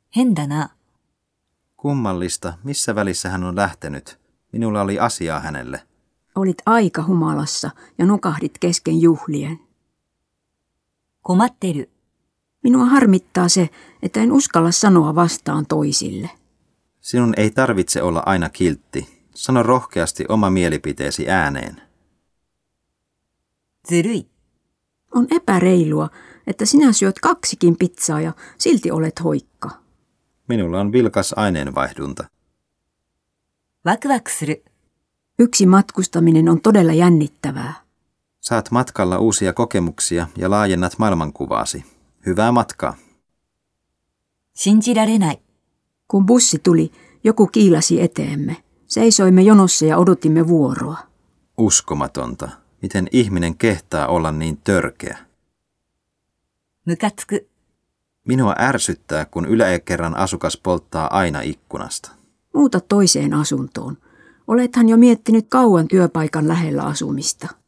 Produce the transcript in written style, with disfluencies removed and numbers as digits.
変だな。 Kummallista, missä välissä hän on lähtenyt. Minulla oli asiaa hänelle. Olit aika humalassa ja nukahdit kesken juhlien. 困ってる。 Minua harmittaa se, että en uskalla sanoa vastaan toisille. Sinun ei tarvitse olla aina kiltti. Sano rohkeasti oma mielipiteesi ääneen. ずるい。 On epäreilua, että sinä syöt 2 pizzaa ja silti olet hoikka. Minulla on vilkas aineenvaihdunta. ワクワクする。 Yksi matkustaminen on todella jännittävää. Saat matkalla uusia kokemuksia ja laajennat maailmankuvaasi. Hyvää matkaa. 信じられない。 Kun bussi tuli, joku kiilasi eteemme. Seisoimme jonossa ja odotimme vuoroa. Uskomatonta. Miten ihminen kehtaa olla niin törkeä? ムカつく。 Minua ärsyttää, kun yläkerran asukas polttaa aina ikkunasta. Muuta toiseen asuntoon. Olethan jo miettinyt kauan työpaikan lähellä asumista.